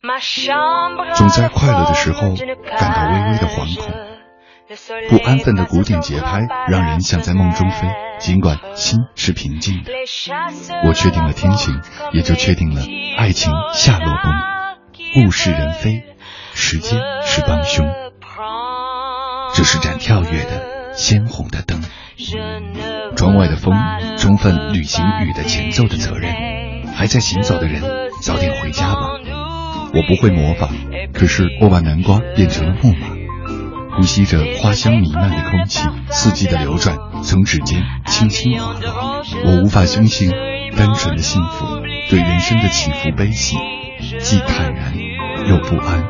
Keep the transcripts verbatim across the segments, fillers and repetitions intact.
总在快乐的时候感到微微的惶恐，不安分的鼓点节拍让人像在梦中飞，尽管心是平静的。我确定了天晴，也就确定了爱情下落崩。物是人非，时间是帮凶。这是盏跳跃的鲜红的灯，窗外的风充分履行雨的前奏的责任。还在行走的人，早点回家吧。我不会魔法，可是我把南瓜变成了木马，呼吸着花香弥漫的空气，四季的流转从指尖轻轻滑落。我无法相信单纯的幸福，对人生的起伏悲喜，既坦然又不安。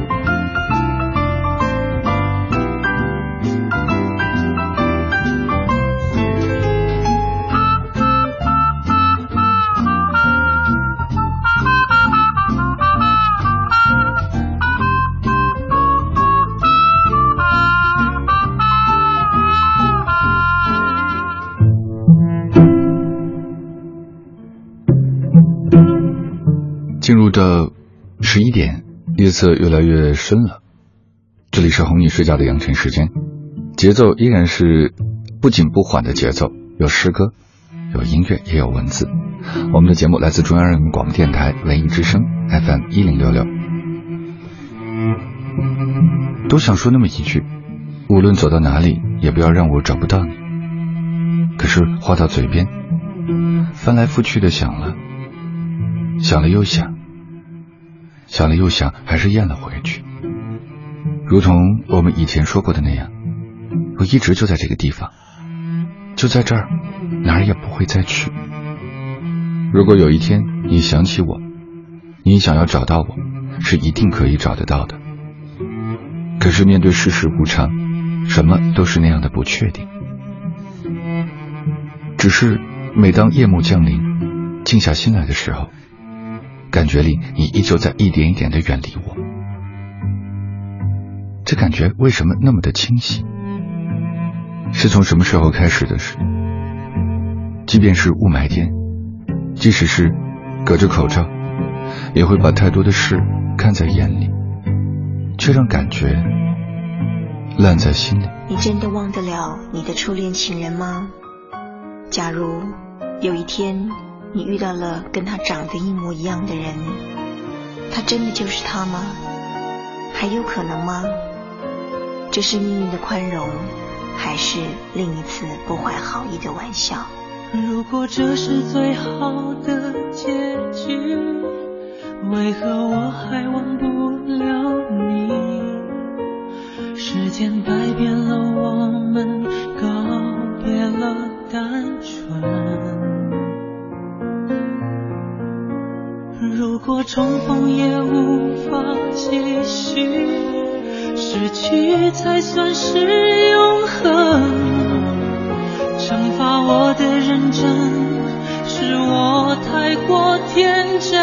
进入到十一点，夜色越来越深了。这里是哄你睡觉的羊晨时间，节奏依然是不紧不缓的节奏，有诗歌，有音乐，也有文字。我们的节目来自中央人民广播电台文艺之声 F M 一零六六。都想说那么一句，无论走到哪里，也不要让我找不到你。可是话到嘴边，翻来覆去的想了，想了又想，想了又想，还是咽了回去。如同我们以前说过的那样，我一直就在这个地方，就在这儿，哪儿也不会再去。如果有一天你想起我，你想要找到我，是一定可以找得到的。可是面对世事无常，什么都是那样的不确定。只是每当夜幕降临，静下心来的时候，感觉里你依旧在一点一点地远离我。这感觉为什么那么的清晰？是从什么时候开始的事？即便是雾霾天，即使是隔着口罩，也会把太多的事看在眼里，却让感觉烂在心里。 你真的忘得了你的初恋情人吗？假如有一天你遇到了跟他长得一模一样的人，他真的就是他吗？还有可能吗？这是命运的宽容，还是另一次不怀好意的玩笑？ 如果这是最好的结局，为何我还忘不了你？时间改变了我们，告别了单纯。如果重逢也无法继续，失去才算是永恒。惩罚我的认真，是我太过天真。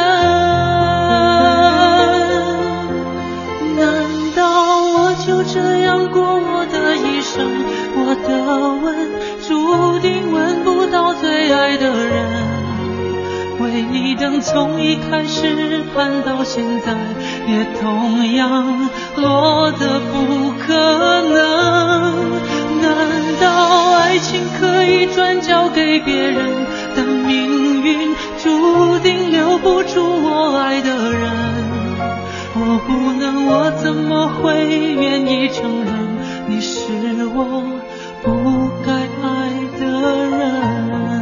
难道我就这样过我的一生？我的吻注定吻不到最爱的人。为你等从一开始盼到现在，也同样落得不可能。难道爱情可以转交给别人，但命运注定留不住我爱的人。我不能，我怎么会愿意承认你是我不该爱的人？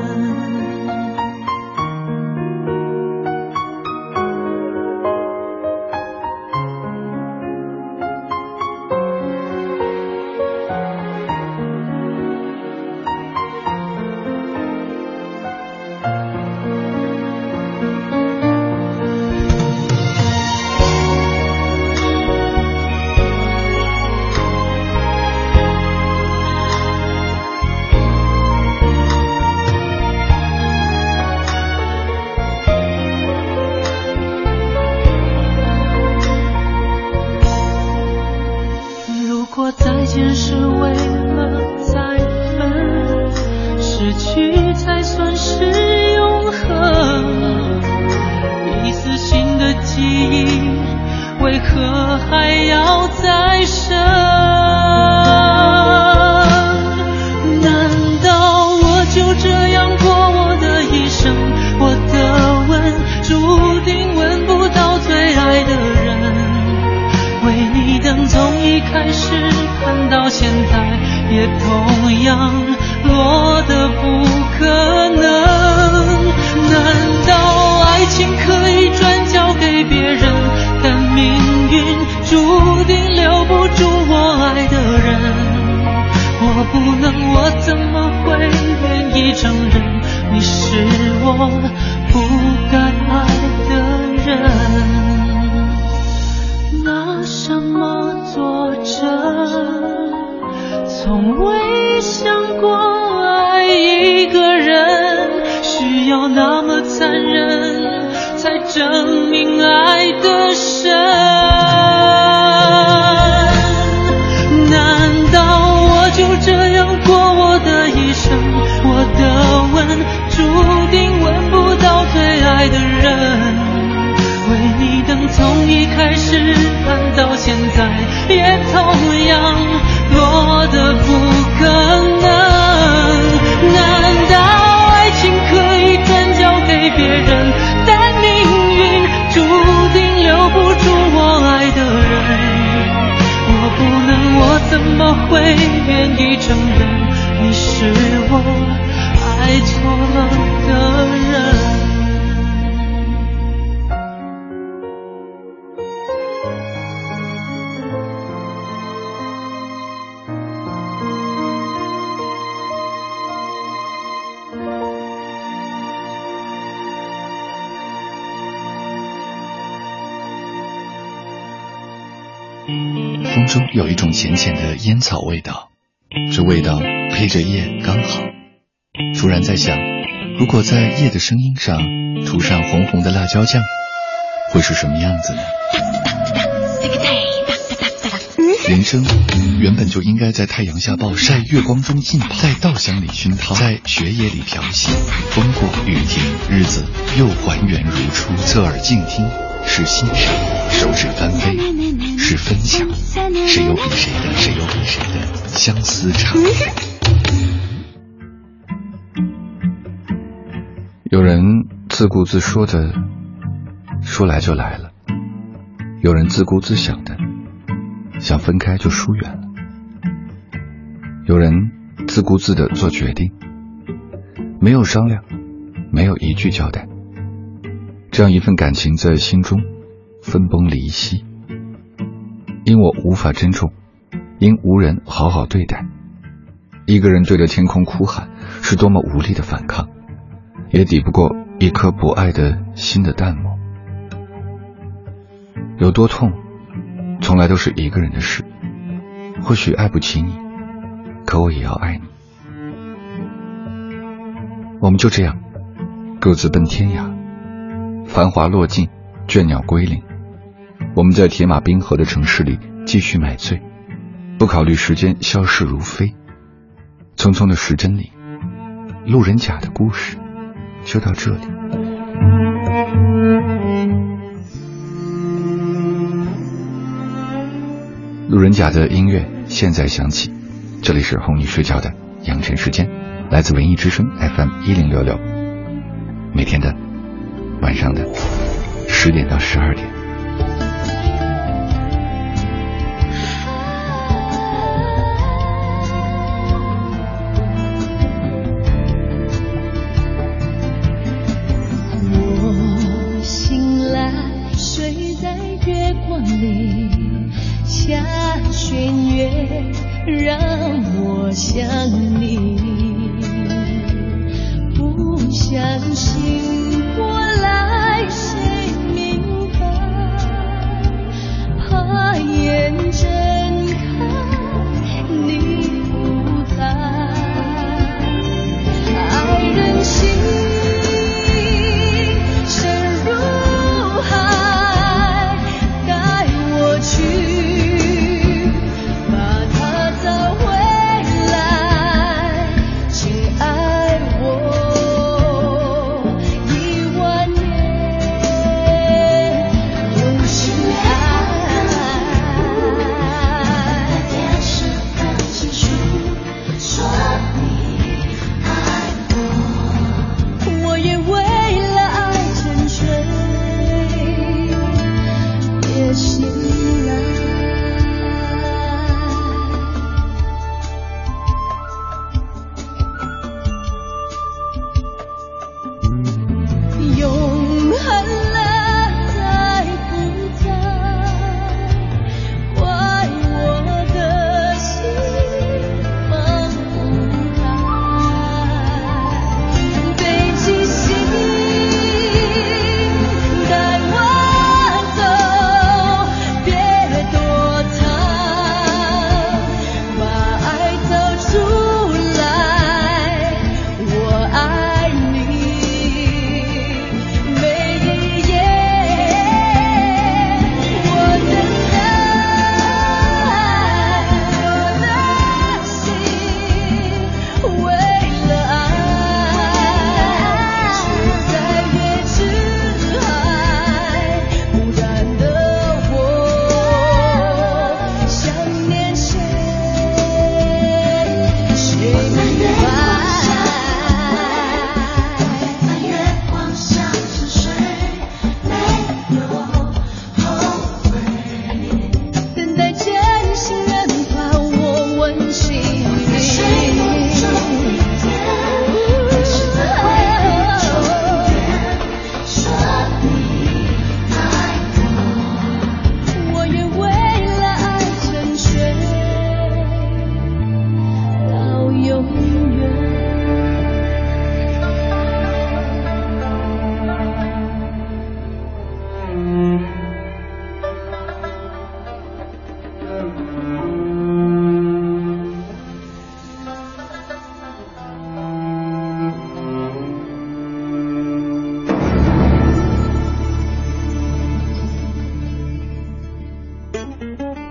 为何还要再生？难道我就这样过我的一生？我的吻注定吻不到最爱的人，为你等从一开始看到现在，也同样落得不可能。难道爱情可以转交给别人，但命运注定留不住我爱的人？我不能，我怎么会愿意承认你是我不该爱的人？拿什么作证？从未想过爱一个人需要那么残忍，才证明爱的深。难道我就这样过我的一生？我的吻注定吻不到最爱的人，为你等从一开始看到现在，也同样落得不可能。难道爱情可以转交给别人，但命运注定留不住我爱的人？我不能，我怎么会愿意承认你是我爱错了的人？ 风中有一种浅浅的烟草味道，这味道配着夜刚好。突然在想，如果在夜的声音上涂上红红的辣椒酱，会是什么样子呢？人生原本就应该在太阳下暴晒，月光中浸泡，在稻香里熏陶，在雪野里漂洗。风过雨停，日子又还原如初。侧耳静听，是欣赏；手指翻飞，是分享。谁有比谁的，谁有比谁的相思长。有人自顾自说的，说来就来了；有人自顾自想的，想分开就疏远了；有人自顾自的做决定，没有商量，没有一句交代。这样一份感情在心中分崩离析，因我无法珍重，因无人好好对待。一个人对着天空哭喊，是多么无力的反抗，也抵不过一颗不爱的心的淡漠。有多痛，从来都是一个人的事。或许爱不起你，可我也要爱你。我们就这样各自奔天涯，繁华落尽，倦鸟归林。我们在铁马冰河的城市里继续买醉，不考虑时间消逝如飞。匆匆的时针里，路人甲的故事就到这里。路人甲的音乐现在响起，这里是哄你睡觉的养成时间，来自文艺之声 F M 一零六六，每天的晚上的十点到十二点。 我醒来，睡在月光里，下弦月让我想你，不相信我来谁明白，怕眼睁开你不在，爱人心深如海，带我去一万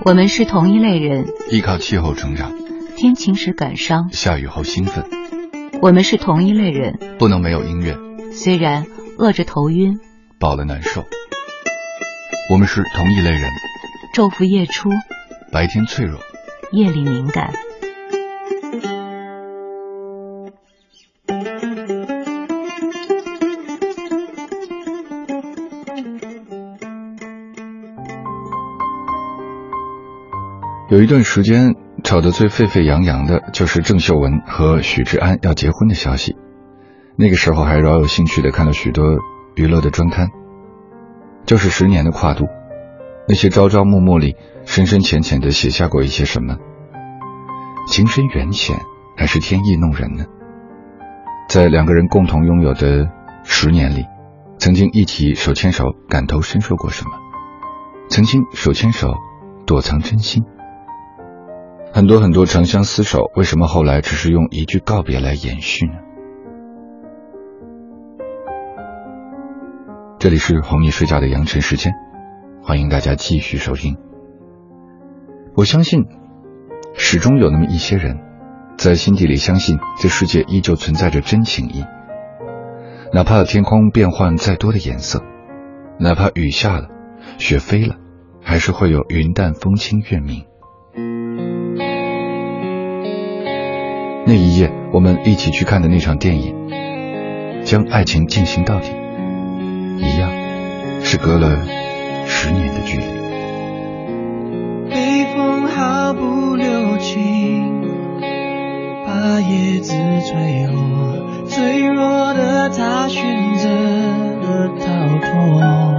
我们是同一类人， 依靠气候成长， 天晴时感伤， 下雨后兴奋。 我们是同一类人， 不能没有音乐， 虽然饿着头晕， 饱了难受。我们是同一类人， 昼伏夜出， 白天脆弱， 夜里敏感。 有一段时间吵得最沸沸扬扬的就是郑秀文和许志安要结婚的消息。那个时候还饶有兴趣地看了许多娱乐的专刊。就是十年的跨度，那些朝朝暮暮里深深浅浅地写下过一些什么？情深缘浅还是天意弄人呢？在两个人共同拥有的十年里，曾经一起手牵手感同身受过什么？曾经手牵手躲藏真心。很多很多长相厮守，为什么后来只是用一句告别来延续呢？这里是哄你睡觉的羊晨时间，欢迎大家继续收听。我相信始终有那么一些人在心底里相信这世界依旧存在着真情意，哪怕天空变换再多的颜色，哪怕雨下了雪飞了，还是会有云淡风轻月明。那一夜我们一起去看的那场电影，将爱情进行到底，一样是隔了十年的距离。 北风毫不留情，把叶子吹落，脆弱的他选择了逃脱。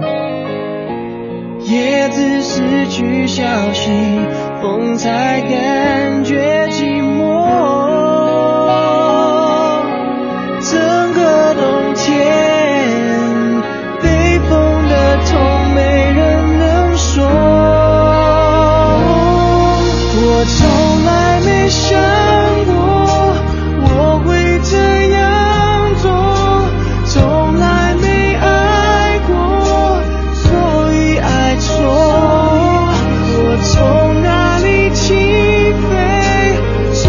叶子失去消息，风才感觉寂寞。整个冬天，北风的痛没人能说。我从来没想过我会这样做，从来没爱过，所以爱错。我从哪里起飞，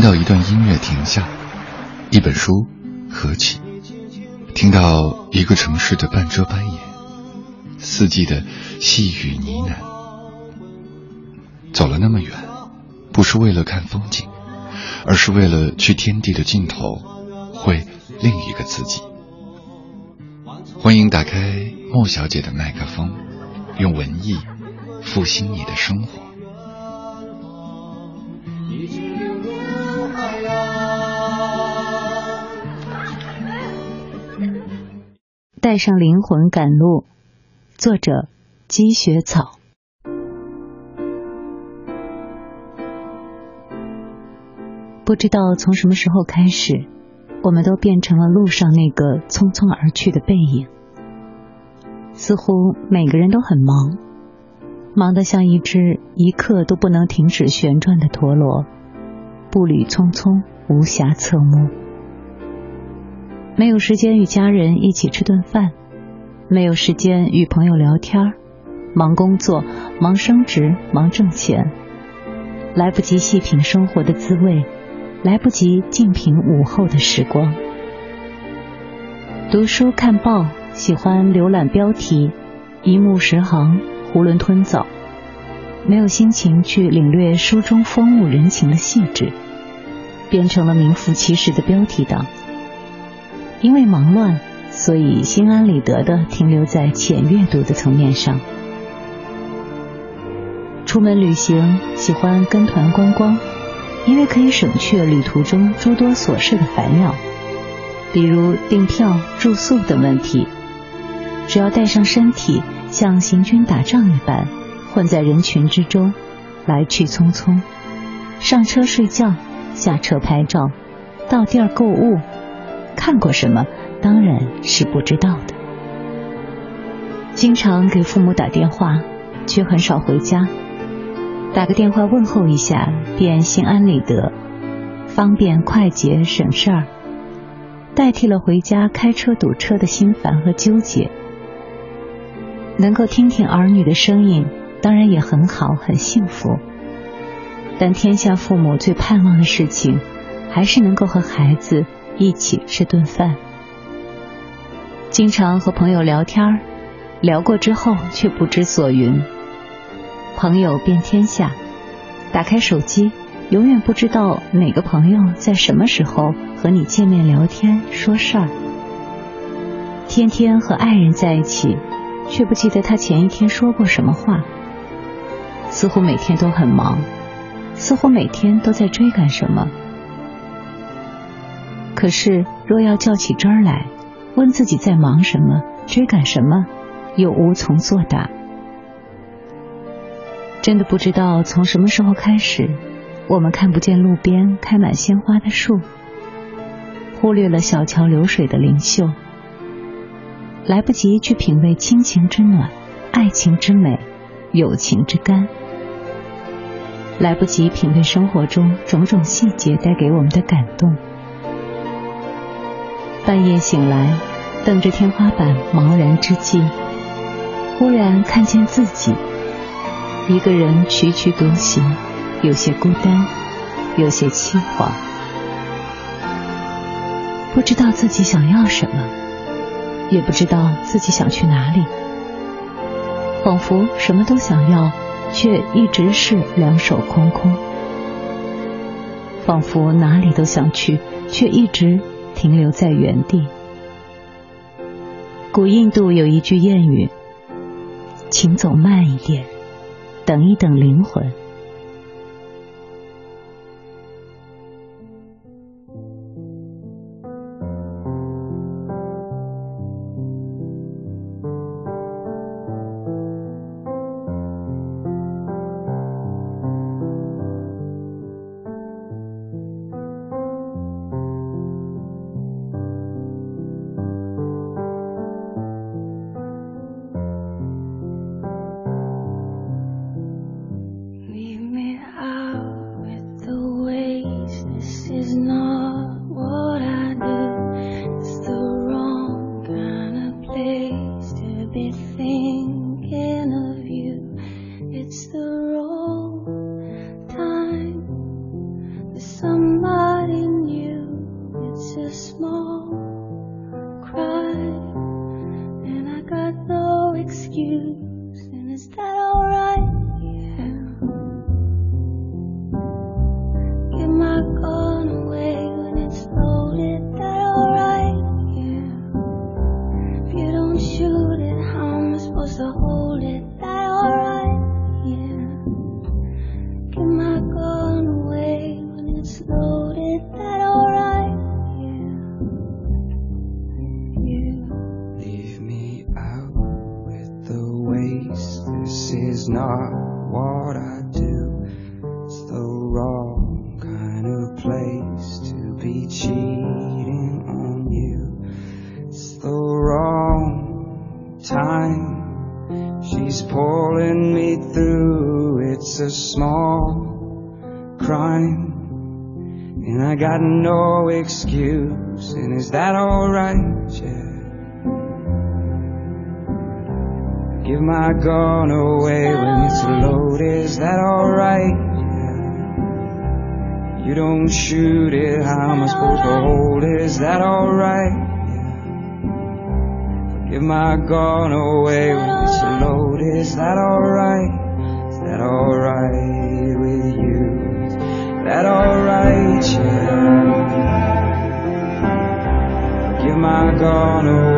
听到一段音乐停下，一本书合起，听到一个城市的半遮半掩，四季的细语呢喃。走了那么远，不是为了看风景，而是为了去天地的尽头，会另一个自己。欢迎打开莫小姐的麦克风，用文艺复兴你的生活。 带上灵魂赶路，作者积雪草。不知道从什么时候开始，我们都变成了路上那个匆匆而去的背影。似乎每个人都很忙，忙得像一只一刻都不能停止旋转的陀螺，步履匆匆，无暇侧目。没有时间与家人一起吃顿饭，没有时间与朋友聊天，忙工作，忙升职，忙挣钱，来不及细品生活的滋味，来不及静品午后的时光。读书看报，喜欢浏览标题，一目十行，囫囵吞枣，没有心情去领略书中风物人情的细致，变成了名副其实的标题党。因为忙乱，所以心安理得地停留在浅阅读的层面上。出门旅行，喜欢跟团观光，因为可以省去旅途中诸多琐事的烦恼，比如订票、住宿等问题。只要带上身体，像行军打仗一般，混在人群之中，来去匆匆。上车睡觉，下车拍照，到地儿购物，看过什么当然是不知道的。经常给父母打电话，却很少回家。打个电话问候一下，便心安理得，方便快捷省事儿，代替了回家开车堵车的心烦和纠结。能够听听儿女的声音，当然也很好，很幸福。但天下父母最盼望的事情，还是能够和孩子一起吃顿饭。经常和朋友聊天，聊过之后却不知所云。朋友遍天下，打开手机，永远不知道哪个朋友在什么时候和你见面聊天说事儿。天天和爱人在一起，却不记得他前一天说过什么话。似乎每天都很忙，似乎每天都在追赶什么。可是若要较起真儿来，问自己在忙什么，追赶什么，又无从作答。真的不知道从什么时候开始，我们看不见路边开满鲜花的树，忽略了小桥流水的灵秀，来不及去品味亲情之暖，爱情之美，友情之甘，来不及品味生活中种种细节带给我们的感动。半夜醒来，瞪着天花板茫然之际，忽然看见自己一个人踽踽独行，有些孤单，有些凄惶，不知道自己想要什么，也不知道自己想去哪里，仿佛什么都想要，却一直是两手空空，仿佛哪里都想去，却一直停留在原地。古印度有一句谚语，请走慢一点，等一等灵魂。 excuse, and is that alright? Yeah. Give my gun away when it's loaded, that alright? Yeah. If you don't shoot it, how am I supposed to hold it? That alright? Yeah. Give my gun away when it's loaded, that alright? Yeah. Yeah. Leave me out with the waste. This is not what I do. It's the wrong kind of place to be cheating on you. It's the wrong time. She's pulling me through. It's a small crime, and I got no excuse. And is that alright? Yeah. Give my gun away when it's loaded. Is that alright? Yeah. You don't shoot it, how am I supposed to hold it? Is that alright? Yeah. Give my gun away when it's loaded. Is that alright? Is that alright with you? Is that alright? Yeah. Give my gun away.